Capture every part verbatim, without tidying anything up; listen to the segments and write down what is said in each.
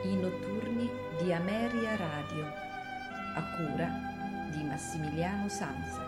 I notturni di Ameria Radio, a cura di Massimiliano Sanza.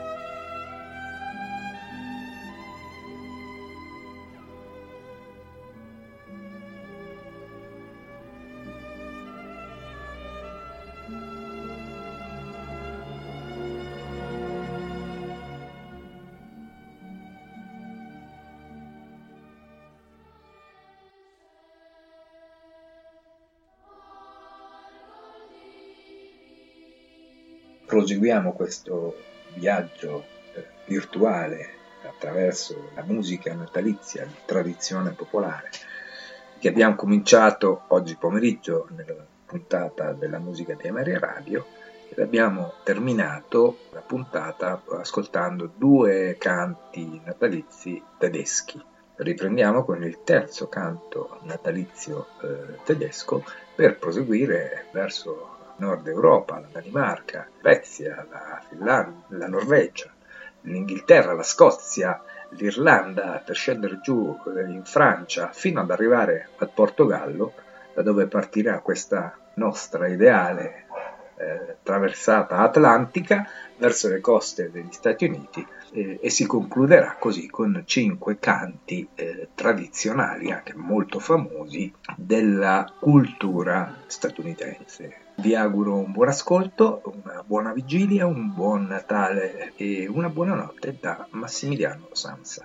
Proseguiamo questo viaggio eh, virtuale attraverso la musica natalizia di tradizione popolare che abbiamo cominciato oggi pomeriggio nella puntata della musica di Ameria Radio ed abbiamo terminato la puntata ascoltando due canti natalizi tedeschi. Riprendiamo con il terzo canto natalizio eh, tedesco per proseguire verso Nord Europa, la Danimarca, la Svezia, la Finlandia, la Norvegia, l'Inghilterra, la Scozia, l'Irlanda, per scendere giù in Francia fino ad arrivare al Portogallo, da dove partirà questa nostra ideale eh, traversata atlantica verso le coste degli Stati Uniti eh, e si concluderà così con cinque canti eh, tradizionali, anche molto famosi, della cultura statunitense. Vi auguro un buon ascolto, una buona vigilia, un buon Natale e una buona notte da Massimiliano Sanza.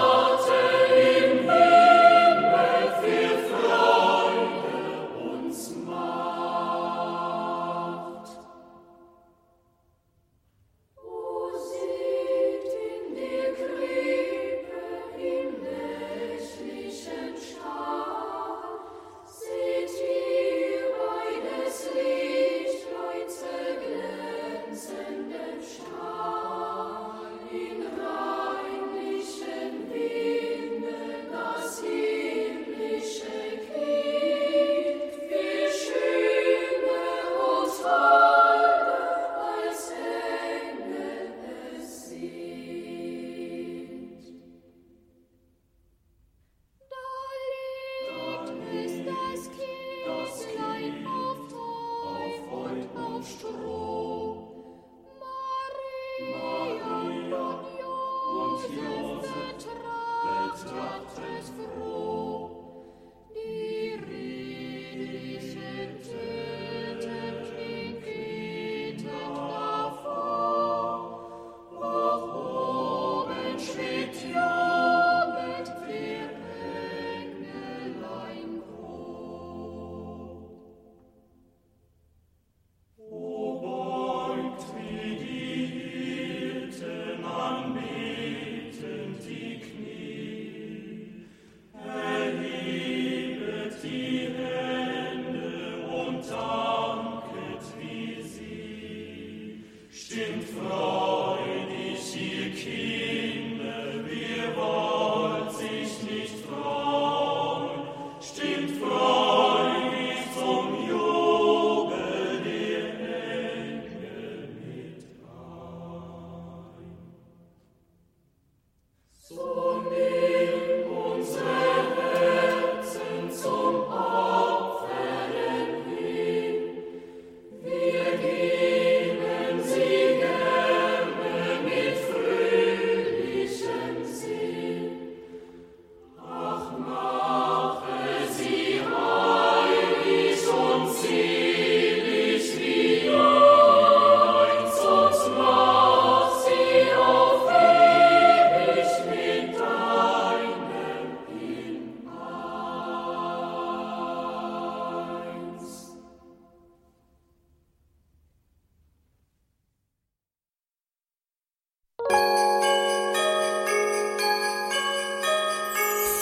Uns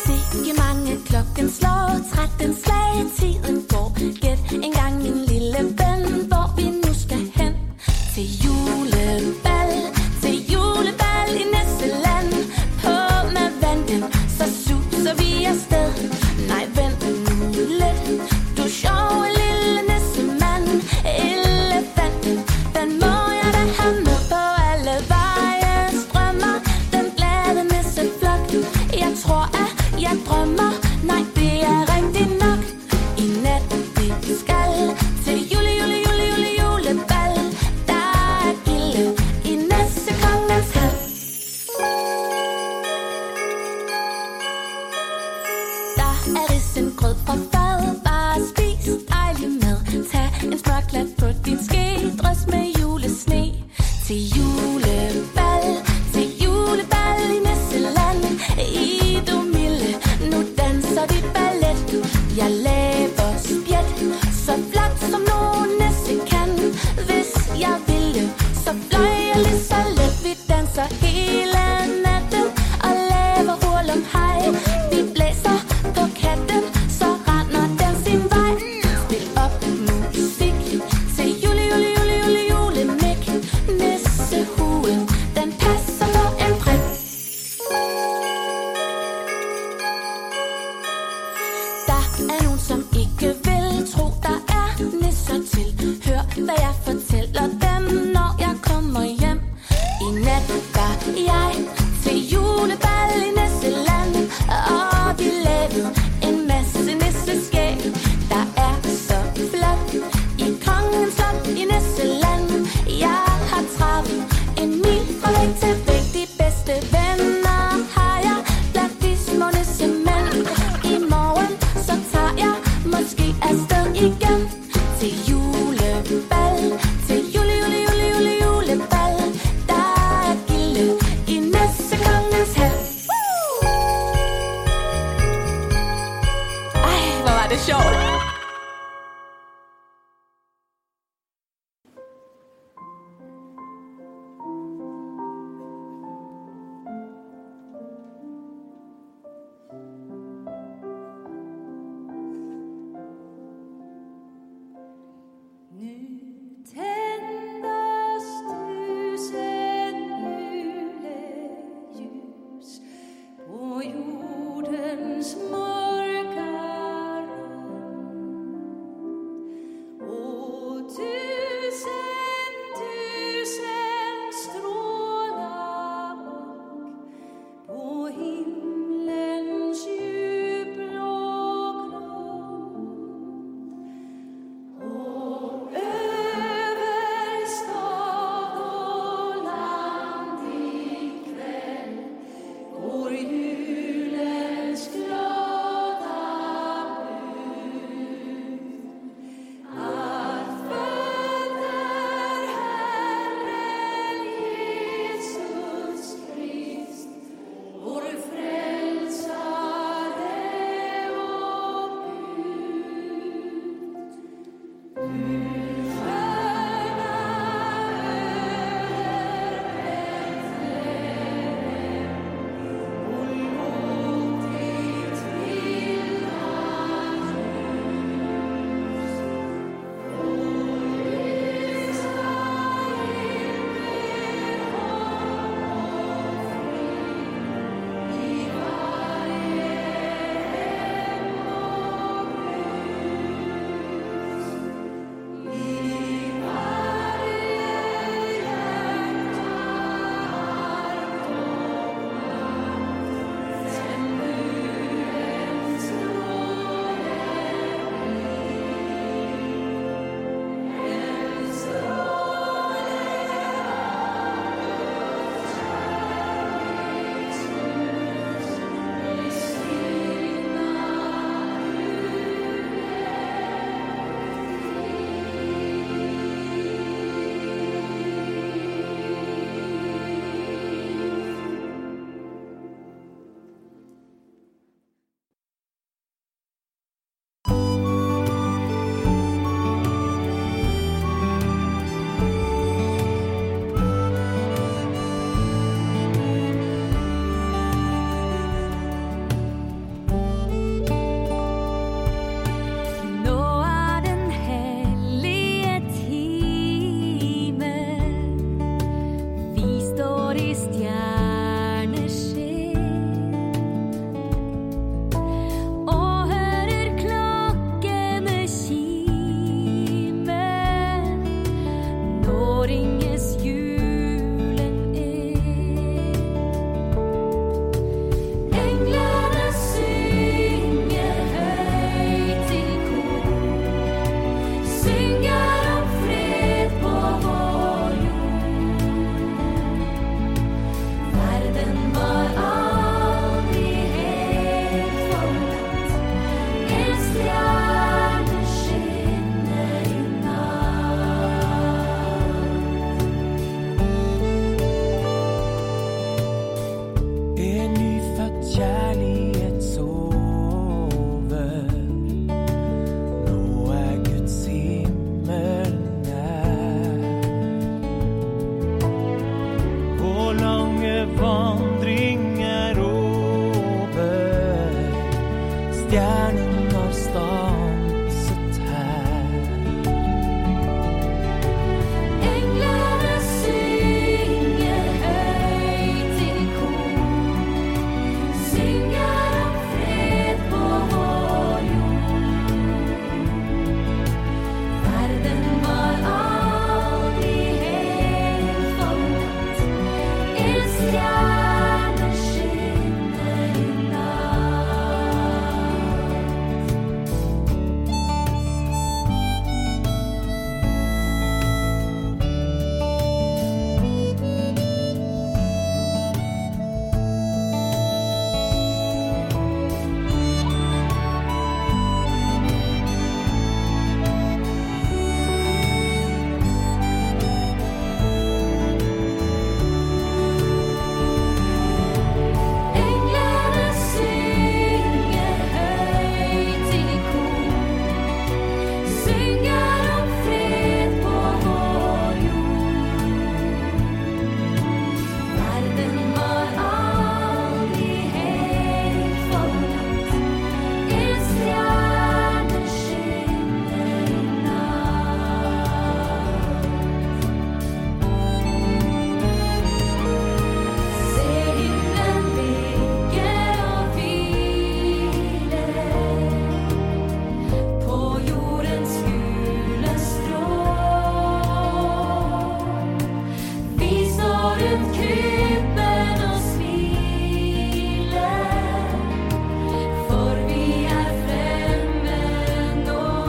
Sikke mange klokken slår, tretten slag, tiden går. Gæt en gang min lille ven, hvor vi nu skal hen. Til julebal, til julebal i Nisseland. På med vandet, så suser vi afsted. Nej, vent nu lidt, du sjove lille nissemand. Elefanten, den må jeg da have med på alle veje. Strømmer, den glade nisseflok. Jeg tror, at jeg drømmer, nej, det er rigtigt nok. I nat vi skal til jule, jule, jule, jule, julebal. Der er gilde i Nissekongens hal. Der er risengrød fra fad, bare spis dejlig mad. Tag en smørklat på din ske, drys med julesne. Til julebal, til julebal i Nisseland. I du milde, nu danser de ballet. Jeg laver spjæt, så flot som nogen nisse kan. Hvis jeg ville, så fløj jeg lige så let. Vi danser hele natten og laver hurlum hej. Vi blæser på katten, så render den sin vej. Spil op musik til jule, jule, jule, jule, julemik. Nissehuen, den passer på en prik. Der er nogen, som ikke vil tro, der er nisser til. Hør, hvad jeg fortæller dem, når jeg kommer hjem. I nat var jeg til julebal i Nisseland, og vi lavede en masse nisseskæg. Der er så flot i kongens slot i Nisseland. Jeg har travet en mil fra væg til væg. De bedste venner har jeg blandt de små nissemænd. I morgen så tager jeg måske afsted igen. Til julebal, til jule, jule, jule, jule, julebal. Der er gilde i Nissekongens hal. Ej, hvor var det sjovt. Jordens mörka rum stjernen har stanset her. Englarna synger höjt i kor, synger om fred på vår jord. Världen var aldrig helt format, er stjärnor skinner i natt. Englarna synger höjt i kor, synger om fred på vår jord. Världen var aldrig helt format, er stjärnor skinner i natt. Se himlen ligger och vilar på jordens gula strå. Vi står runt krypen och smiler, för vi är framme nå.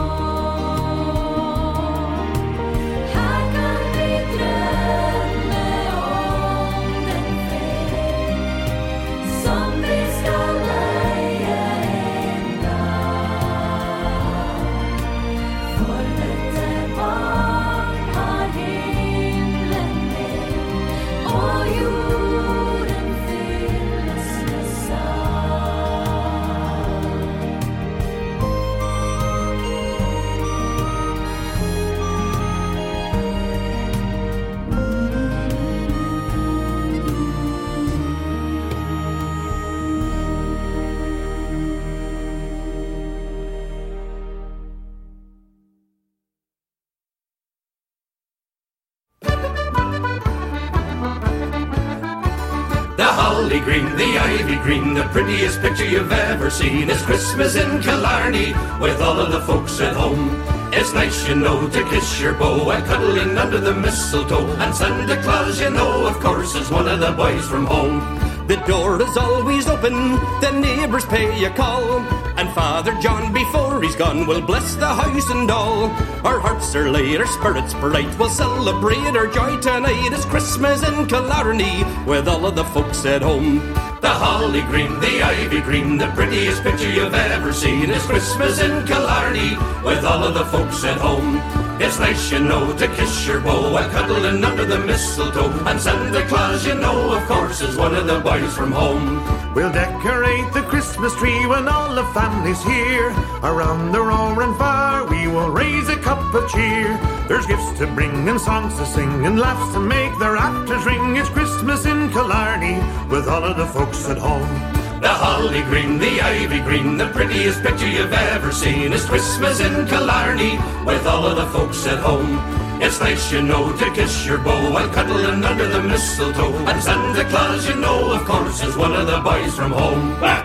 Här kan vi drömma om den fred som vi ska leja en dag. För detta barn har himlen med, och jorden fylls med sand. The holly green, the ivy green, the prettiest picture you've ever seen. It's Christmas in Killarney with all of the folks at home. It's nice, you know, to kiss your beau and cuddling under the mistletoe. And Santa Claus, you know, of course, is one of the boys from home. The door is always open, the neighbours pay a call, and Father John, before he's gone, will bless the house and all. Our hearts are light, our spirits bright, we'll celebrate our joy tonight. It's Christmas in Killarney with all of the folks at home. The holly green, the ivy green, the prettiest picture you've ever seen. It's Christmas in Killarney with all of the folks at home. It's nice, you know, to kiss your beau and cuddling under the mistletoe. And Santa Claus, you know, of course, is one of the boys from home. We'll decorate the Christmas tree when all the family's here. Around the roaring fire we will raise a cup of cheer. There's gifts to bring and songs to sing and laughs to make the rafters ring. It's Christmas in Killarney with all of the folks at home. The holly green, the ivy green, the prettiest picture you've ever seen. It's Christmas in Killarney with all of the folks at home. It's nice, you know, to kiss your beau while cuddling under the mistletoe. And Santa Claus, you know, of course, is one of the boys from home. Ah!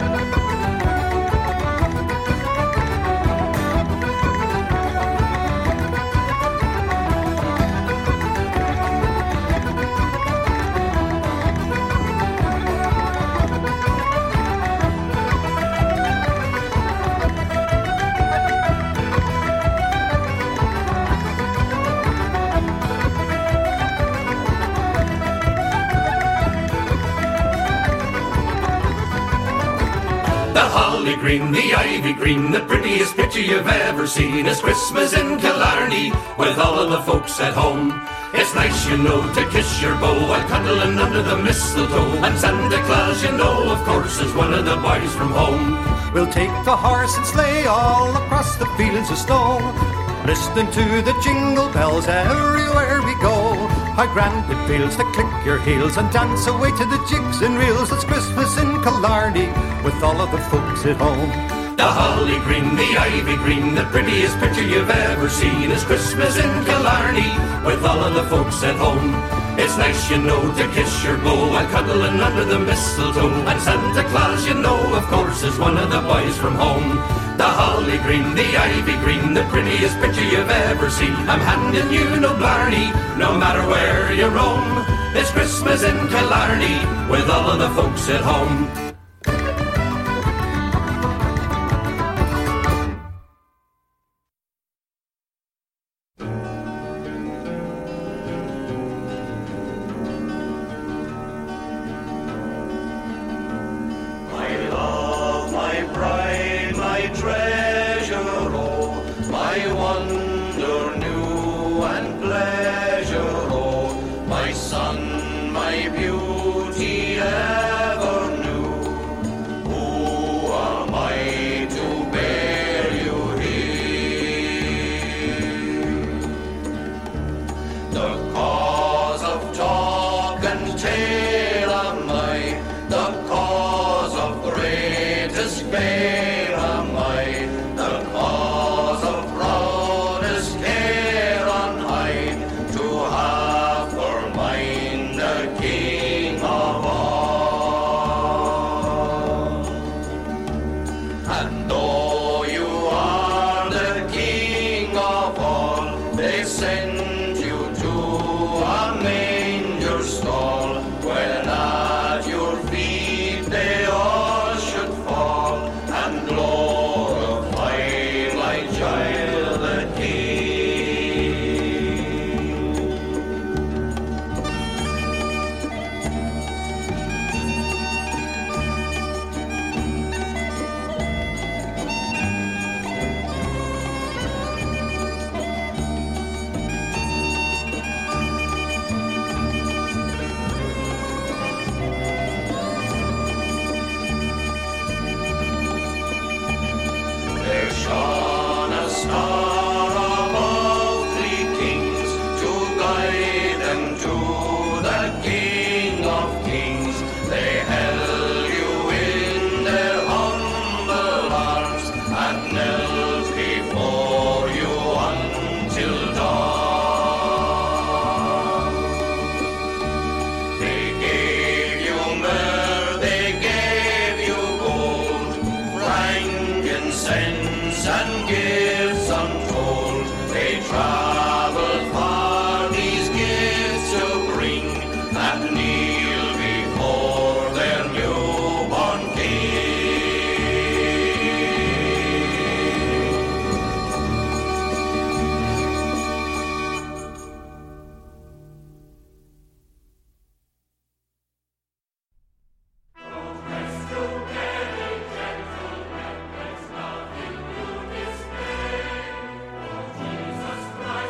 Green, the ivy green, the prettiest picture you've ever seen. It's Christmas in Killarney with all of the folks at home. It's nice, you know, to kiss your beau while cuddling under the mistletoe. And Santa Claus, you know, of course, is one of the boys from home. We'll take the horse and sleigh all across the fields of snow, listening to the jingle bells everywhere we go. How grand it feels to click your heels and dance away to the jigs and reels. It's Christmas in Killarney with all of the folks at home. The holly green, the ivy green, the prettiest picture you've ever seen is Christmas in Killarney with all of the folks at home. It's nice, you know, to kiss your beau while cuddling under the mistletoe. And Santa Claus, you know, of course, is one of the boys from home. The holly green, the ivy green, the prettiest picture you've ever seen. I'm handing you no blarney, no matter where you roam. It's Christmas in Killarney with all of the folks at home. Christ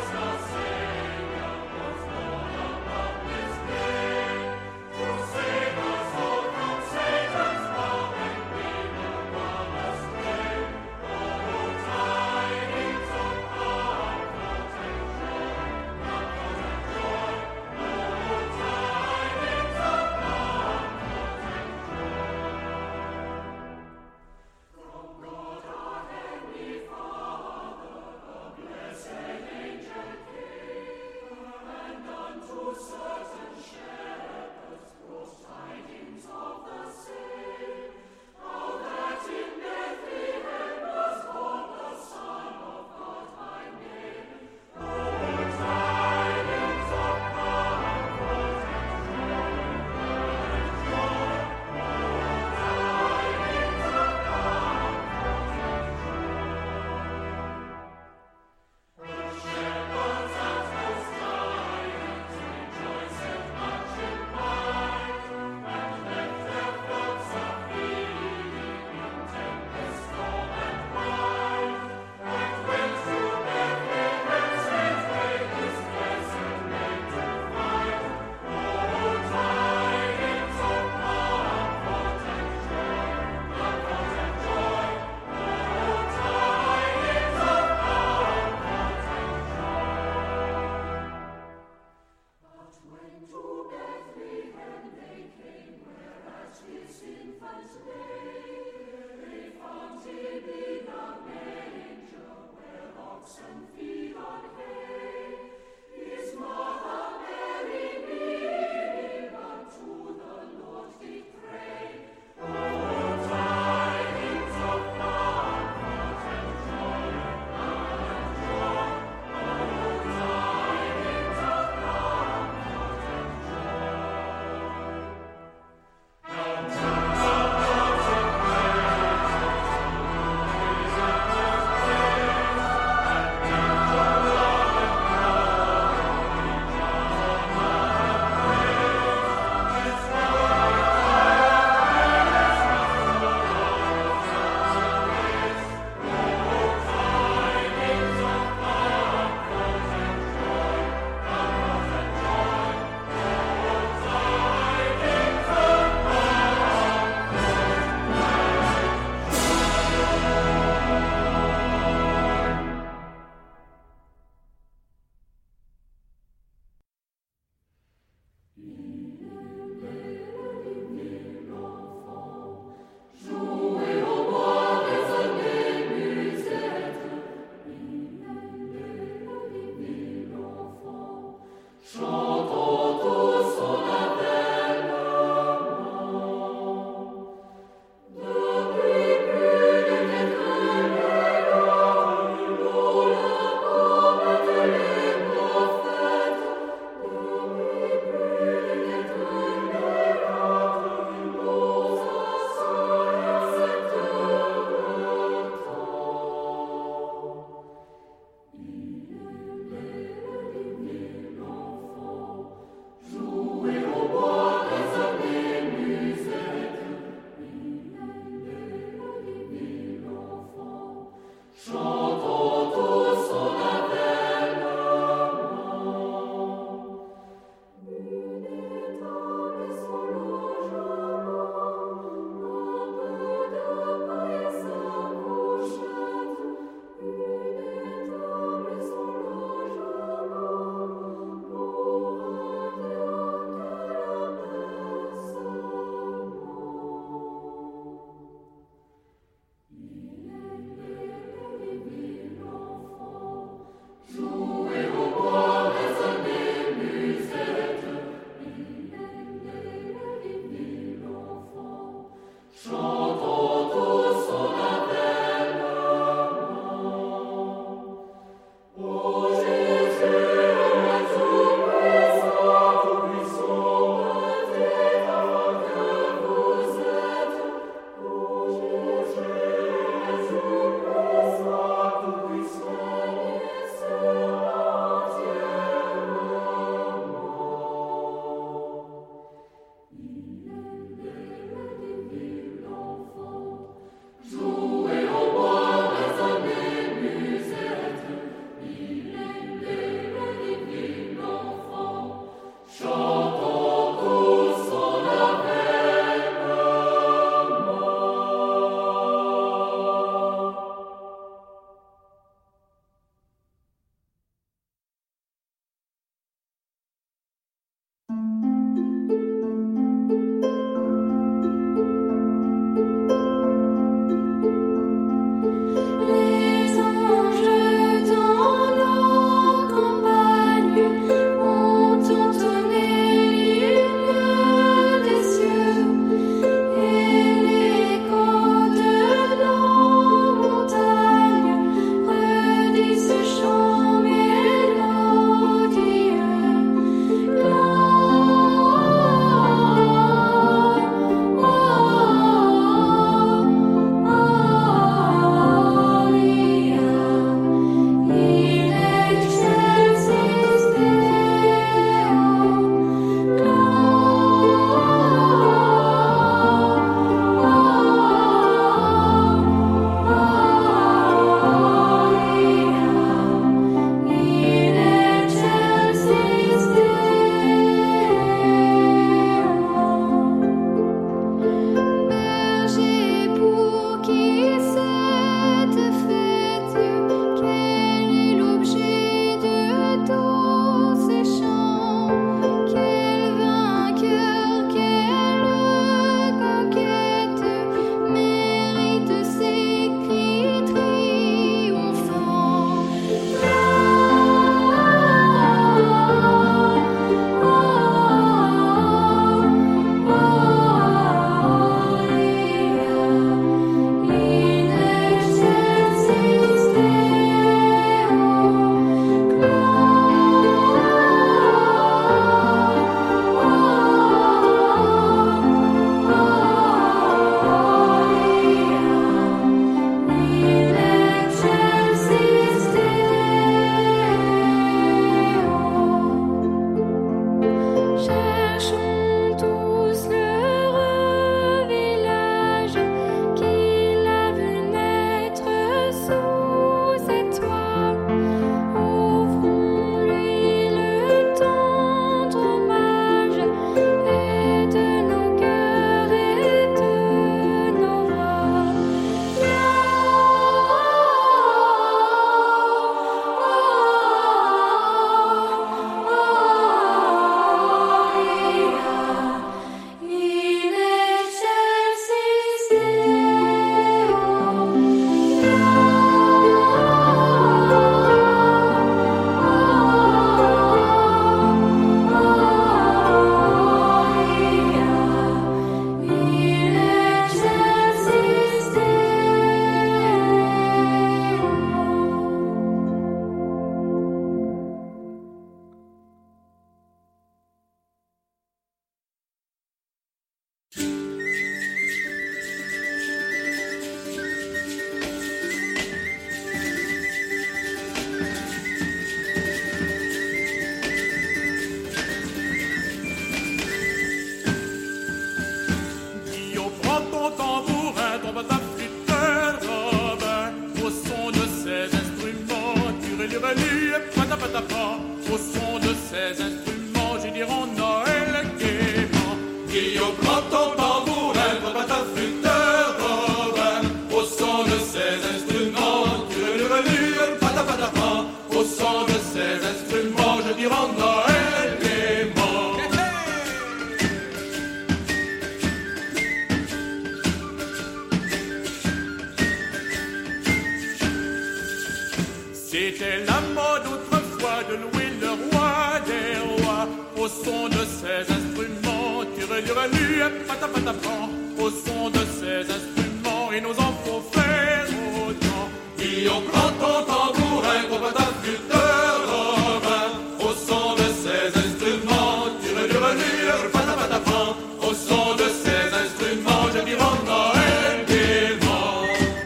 C'était la mode autrefois de louer le roi des rois au son de ses instruments. Tirelurelu, patapatapan, au son de ses instruments. Et nos enfants faut faire autant. Et on prend ton tambourin, gros pataflûte de Robin, au son de ses instruments. Tirelurelu, patapatapan, au son de ses instruments. Je dis rends Noël gaiement.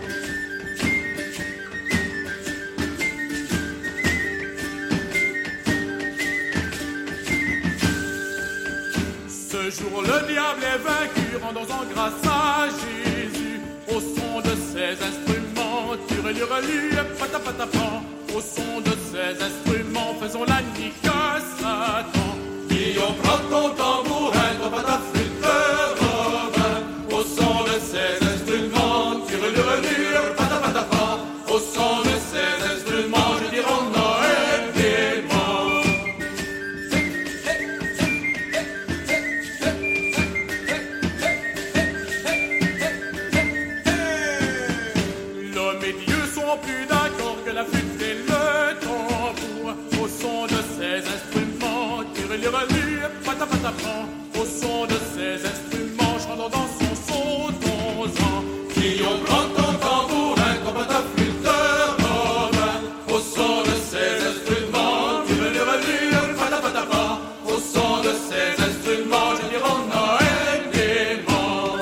Ce jour le diable est vaincu, rendons-en grâce à Jésus. Au son de ses instruments, tirelurelu, patapatapan. Au son de ses instruments, faisons la nique à Satan. Et on prend ton tambourin, ton pataflûte de Robin. Au son de ses instruments, tirelurelu, patapatapan. Au son de ses instruments, je dis rends Noël gaiement. L'homme et Dieu sont plus d'accord que la flûte et le tambour. Au son de ses instruments, tirelurelu, patapatapan. Au son de ses instruments, chantant dans son sautons-en. Qui on prend ton tambourin, ton pataflûte de Robin. Au son de ses instruments, tirelurelu, patapatapan. Au son de ses instruments, je dis rends Noël gaiement.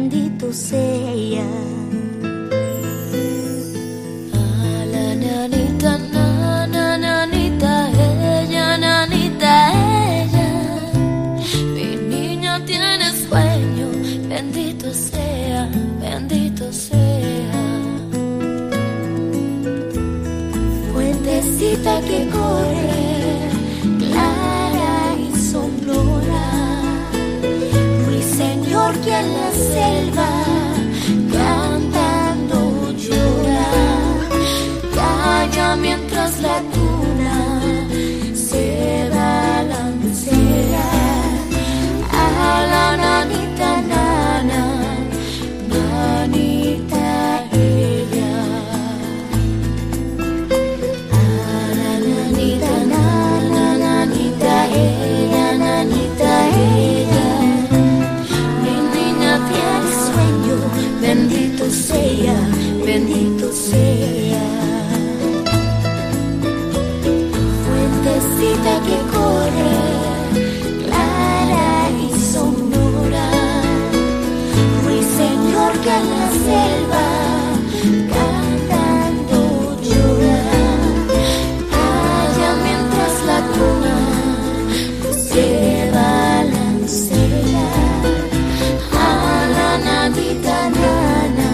bendito sea. Ah, la nanita, na, na, nanita, ella, nanita, ella. Mi niña tiene sueño, bendito sea, bendito sea. Fuentecita que corre, clara y sonora. Ruiseñor que en la selva cantando llora. Calla mientras la tuna se balancea. A la nanita nana, nanita ella. A la nanita nana, nanita ella, nanita ella. Mi niña tiene sueño, bendito sea, bendito sea. Fuentecita que corre, clara y sonora. Ruiseñor que en la selva cantando llora. Calla mientras la tuna se balancea. A la nanita nana,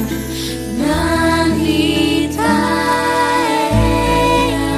nanita ella.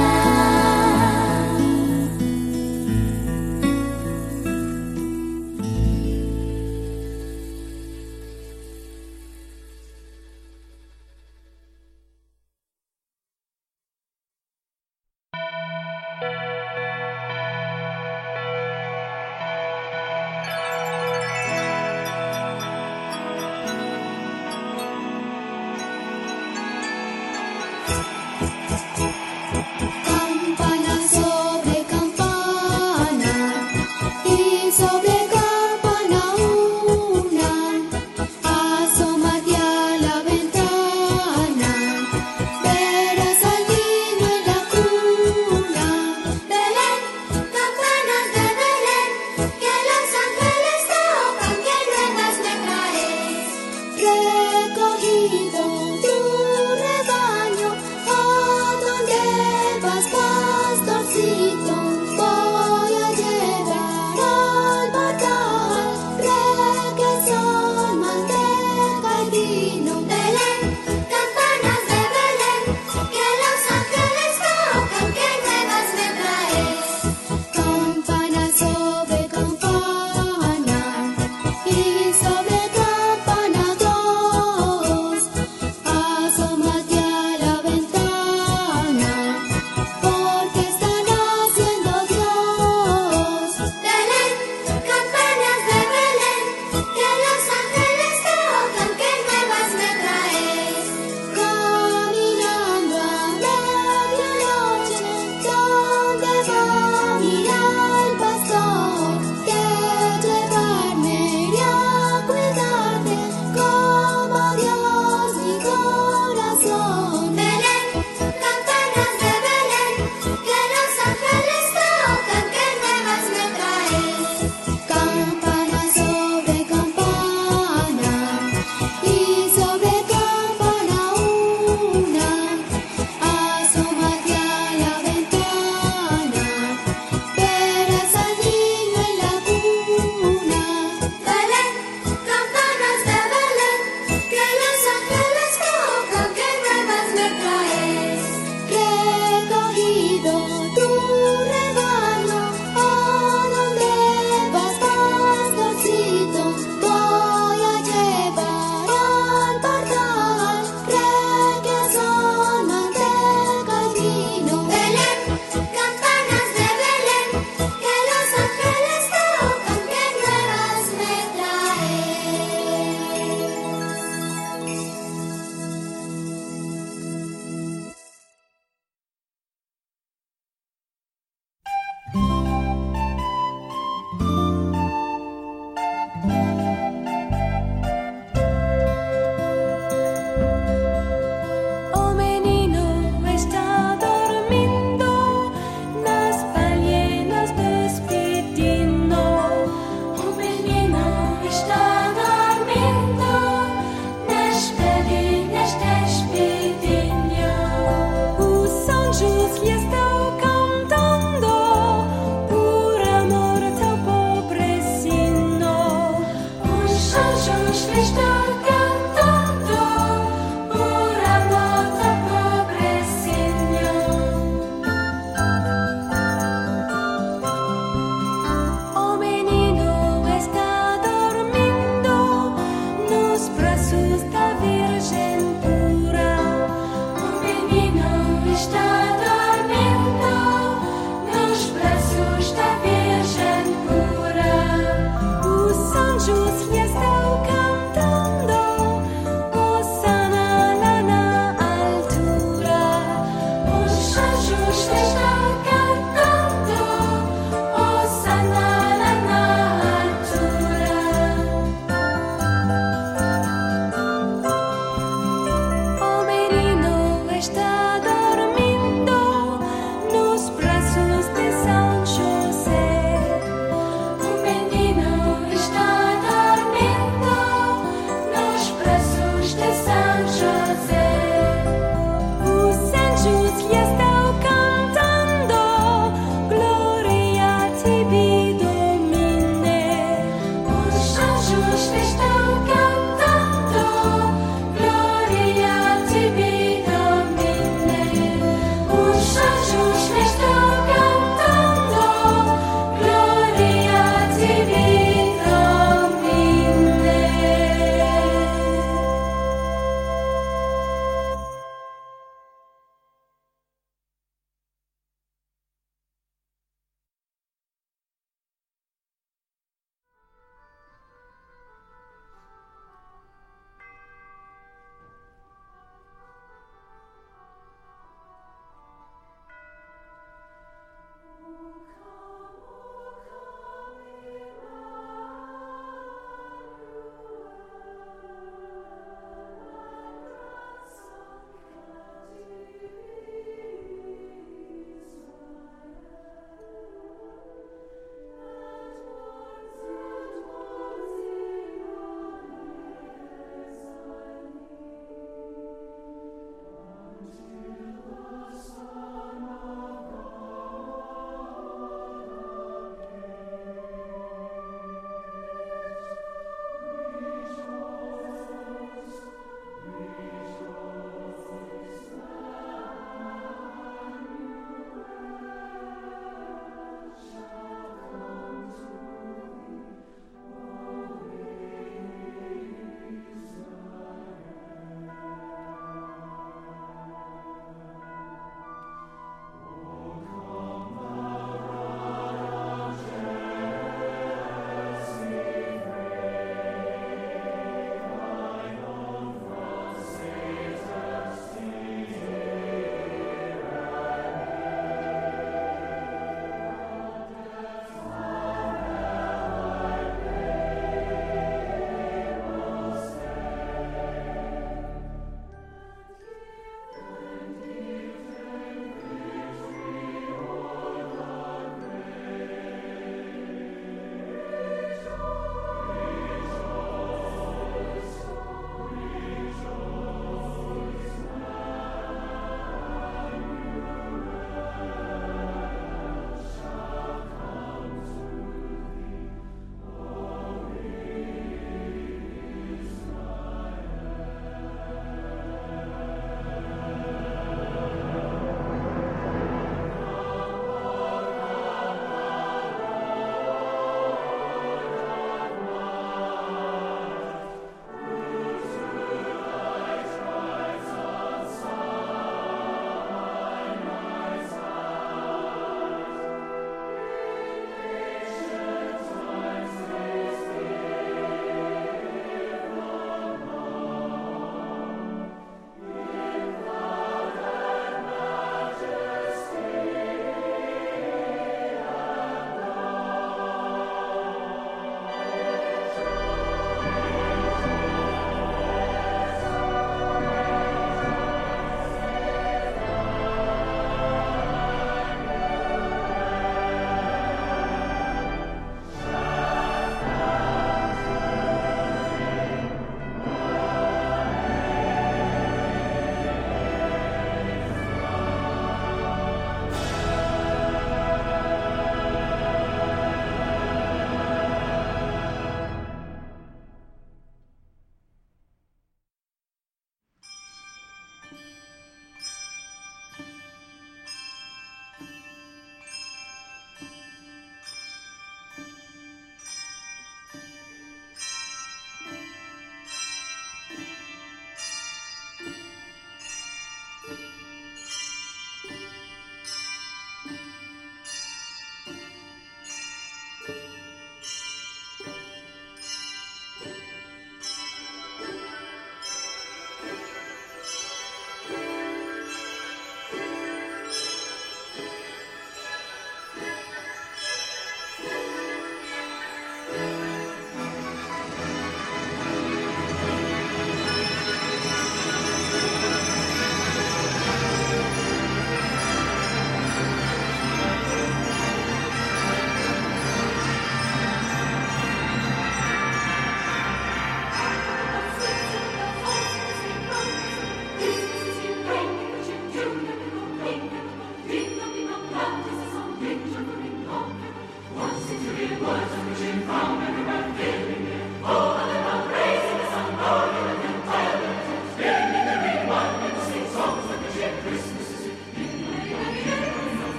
Campana sobre campana y sobre campana una, asómate a la ventana, verás al niño en la cuna. Belén, campanas de Belén, que los ángeles tocan, que nuevas me traes. Recogido tu rebaño, ¿a dónde vas, pastorcito? Voy a llevar al portal requesón, manteca y vino. Belén, campanas de Belén, que los ángeles tocan, que nuevas me traes. Campana sobre campana y sobre campana dos, asómate a la ventana, porque están haciendo Dios. Belén, campanas de Belén, que los ángeles tocan, que nuevas me traes.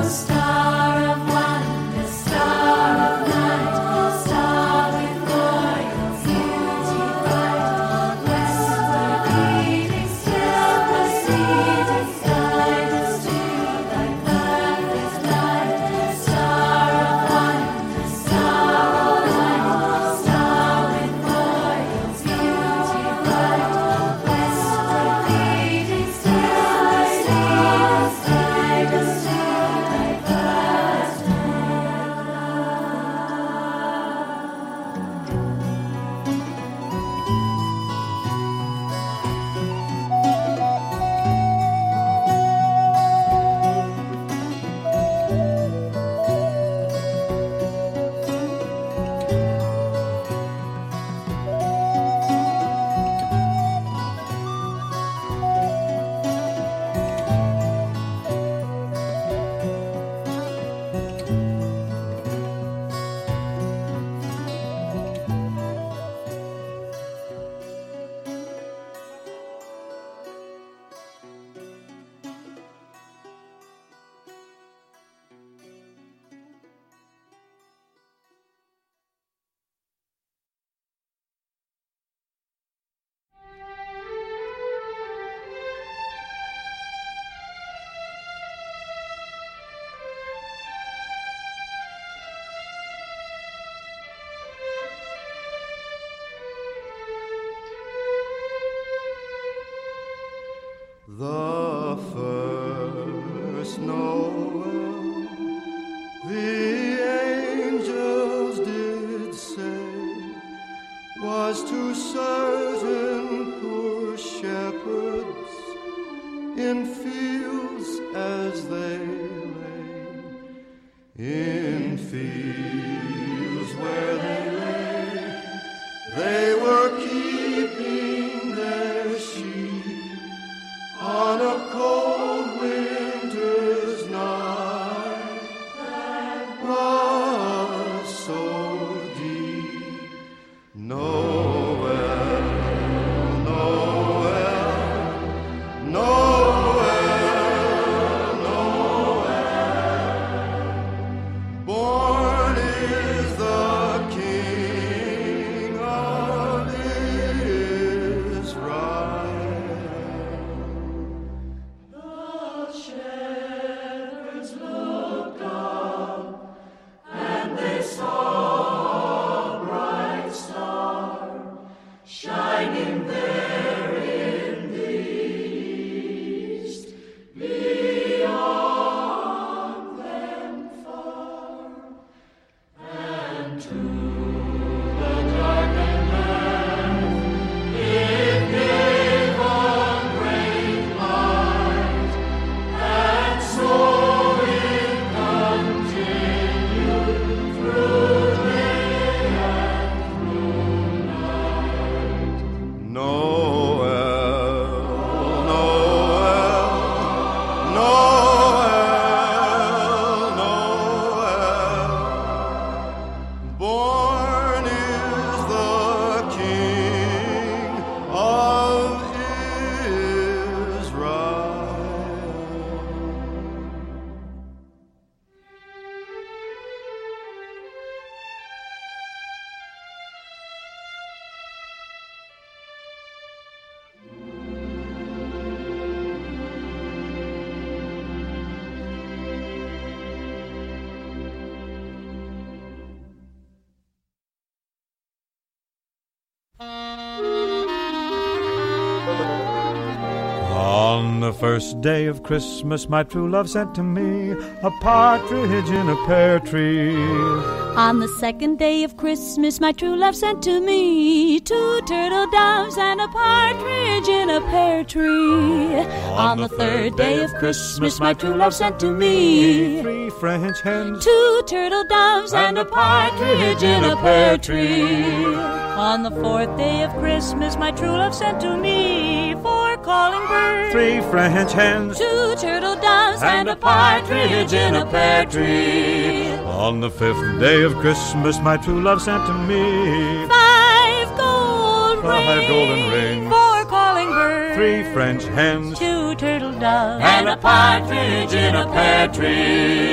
The first Noel, the angels did say, was to certain poor shepherds in fields as they lay, in fields where they lay, they were keeping their sheep on a cold winter's night that was so deep. Noel, Noel, Noel, Noel. Born is the King of Israel. On the first day of Christmas, my true love sent to me a partridge in a pear tree. On the second day of Christmas, my true love sent to me two turtle doves and a partridge in a pear tree. On the third day of Christmas, my true love sent to me three French hens, two turtle doves and a partridge in a pear tree. On the fourth day of Christmas, my true love sent to me four calling birds, three French hens, two turtle doves and a partridge in a pear tree. On the fifth day of Christmas, my true love sent to me five gold five rings, golden rings, four calling birds, three French hens, two turtle doves and a partridge in a pear tree.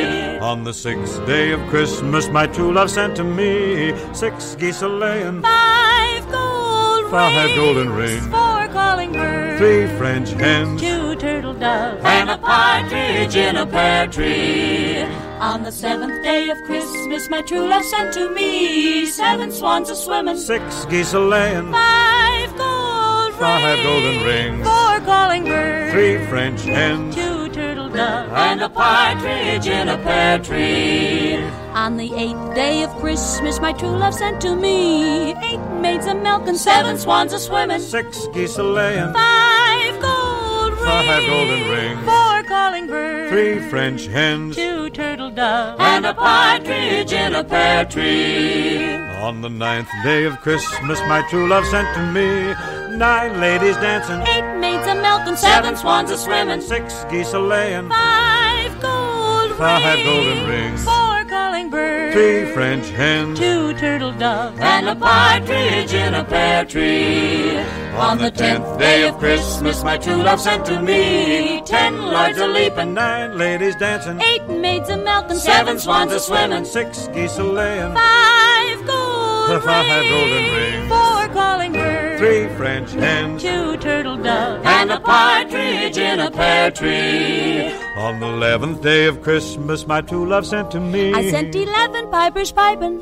On the sixth day of Christmas, my true love sent to me six geese a-laying, five gold five rings, golden rings, four calling birds, three French hens, two turtle doves, and a partridge in a pear tree. On the seventh day of Christmas, my true love sent to me seven swans a-swimming, six geese a-laying, five gold five rings, golden rings, four calling birds, three French hens, two turtle doves, and a partridge in a pear tree. On the eighth day of Christmas, my true love sent to me eight maids a-milking, seven swans a-swimming, six geese a-laying, five gold rings, five golden rings, four calling birds, three French hens, two turtle doves, and a partridge in a pear tree. On the ninth day of Christmas, my true love sent to me nine ladies dancing, eight maids a-milking, seven swans a-swimming, six geese a-laying, five gold five rings, golden rings, four calling birds, three French hens, two turtle doves, and a partridge in a pear tree. On the tenth day of Christmas, my true love sent to me ten lords a-leaping, nine ladies dancing, eight maids a-milking, seven swans a-swimming, six geese a-laying, five gold five rings, golden rings, four calling birds, three French hens, two turtle doves, and a partridge in a pear tree. On the eleventh day of Christmas, my true love sent to me I sent eleven pipers piping,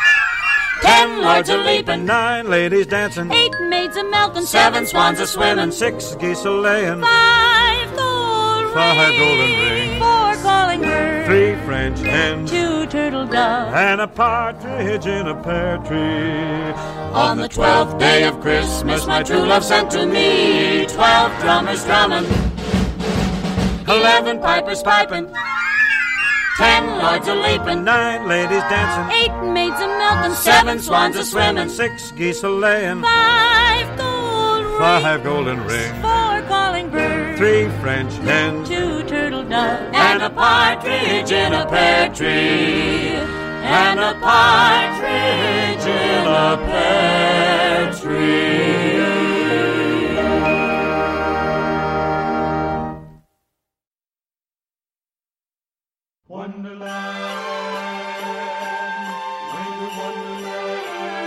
ten lords a-leaping, nine ladies dancing, eight maids a-milking, seven swans a-swimming, six geese a-laying, five gold five rings, golden rings, four calling birds, three French hens, two turtle doves, and a partridge in a pear tree. On the twelfth day of Christmas, my true love sent to me twelve drummers drumming, eleven pipers piping, ten lords a-leaping, nine ladies dancing, eight maids a-milking, seven swans a-swimming, six geese a-laying, five gold rings, five golden rings, four calling birds, three French hens, two turtle doves, and a partridge in a pear tree, and a partridge in a pear tree. Wonderland, winter wonderland,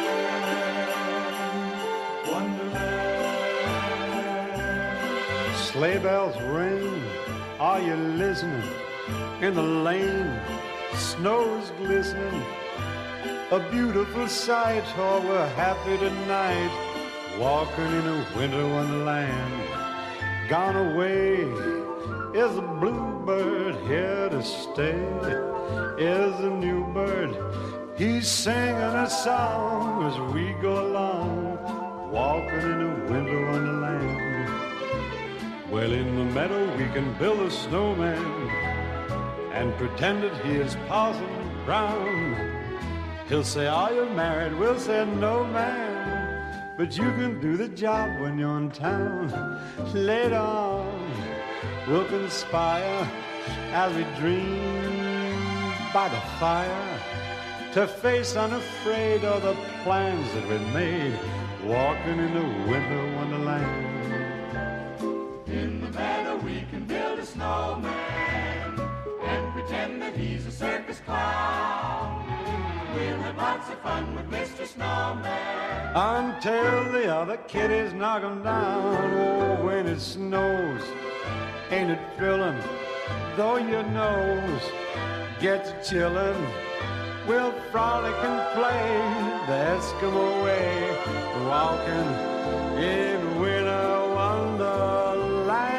wonderland. Sleigh bells ring, are you listening? In the lane, snow's glistening, a beautiful sight. Oh, we're happy tonight, walking in a winter wonderland. Gone away is a bluebird, here to stay is a new bird. He's singing a song as we go along, walking in a winter wonderland. Well, in the meadow we can build a snowman and pretend that he is Parson Brown. He'll say, are you married? We'll say, no, man, but you can do the job when you're in town. Later on, we'll conspire as we dream by the fire to face unafraid all the plans that we made, walking in the winter wonderland. In the meadow we can build a snowman and pretend that he's a circus clown. We'll have lots of fun with Mister Snowman until the other kiddies knock him down. Oh, when it snows, ain't it thrilling? Though your nose gets chillin', we'll frolic and play the Eskimo way, walking in winter wonderland.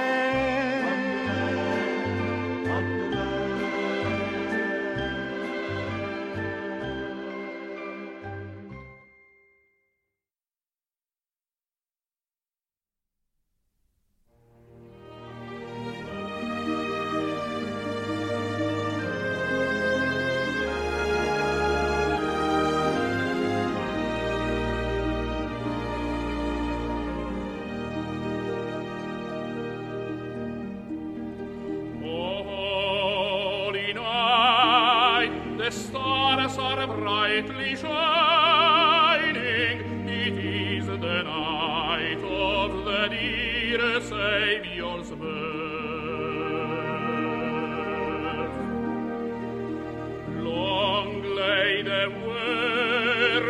The stars are brightly shining. It is the night of the dear Saviour's birth.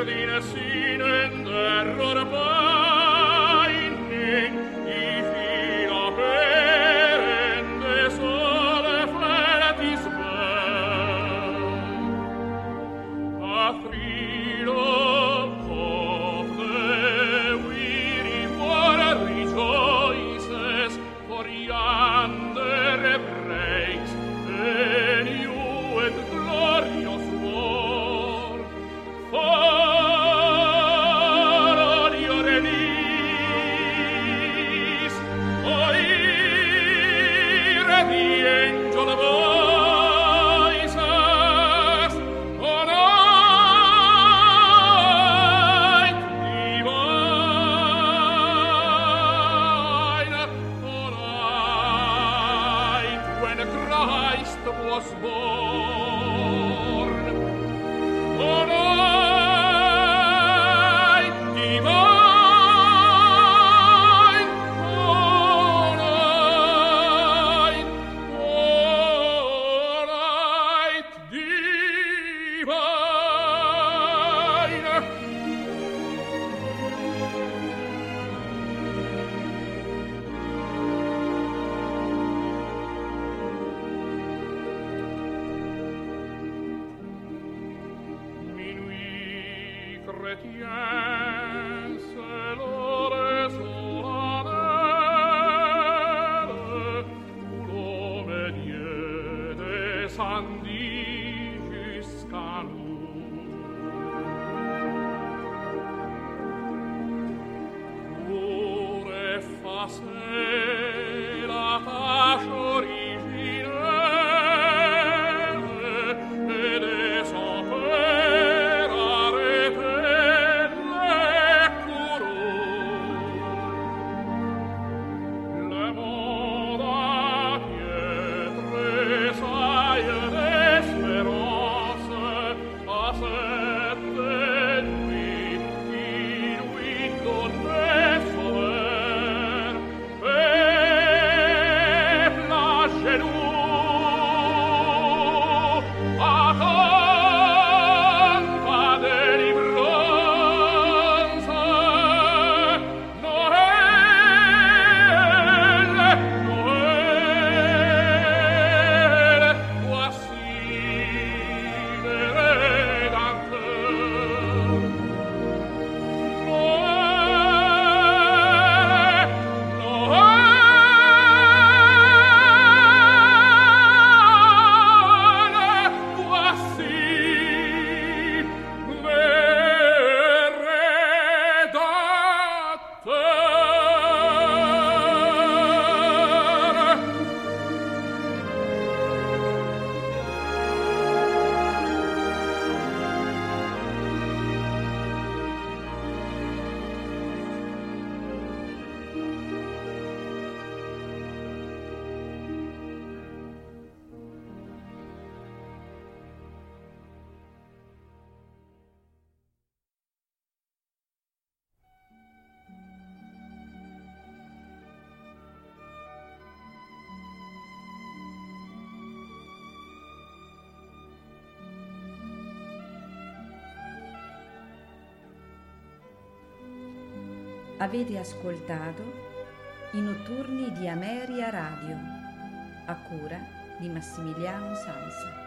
Erdine sinen der Rorbeinen, I fila perende sole fletis vel. A frilo of the weary water rejoices, for yonder breaks a new and glorious war. For on your knees, oh, hear the angel voices, on night divine, on night when Christ was born, on night divine, on night, on night divine. Minuit chrétien, c'est l'heure solennelle où l'homme et Dieu descendit jusqu'à nous. Pour effacer la tâche originelle et de son père arrêter les courroux. Le monde entier tressaille d'espérance à cette nuit qui lui donnait sauveur. Peuple à genoux, attends ta délivrance. Noël, Noël, voici le Rédempteur. Noël, Noël, voici le Rédempteur. Avete ascoltato I notturni di Ameria Radio, a cura di Massimiliano Sanza.